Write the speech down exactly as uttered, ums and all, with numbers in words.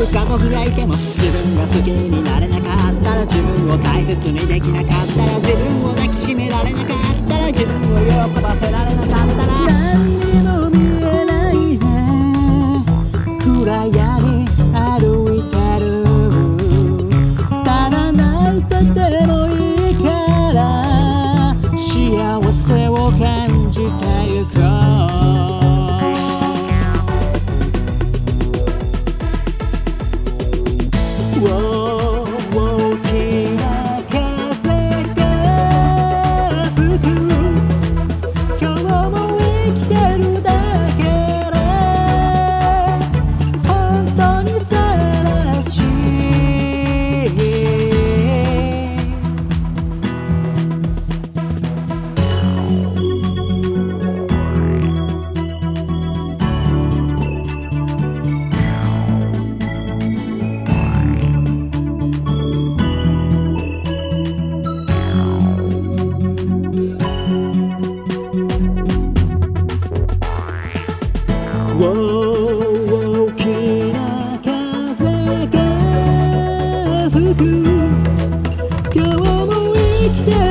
家族がいても自分が好きになれなかったら、自分を大切にできなかったら、自分を抱きしめられなかったら、自分を喜ばせられなかったら、何にも見えないね暗闇歩いてる。ただ泣いててもいいから幸せを感じてゆこう。大きな風が吹く。今日も生きてるだけで本当に素晴らしい。大きな風が吹く。今日も生きて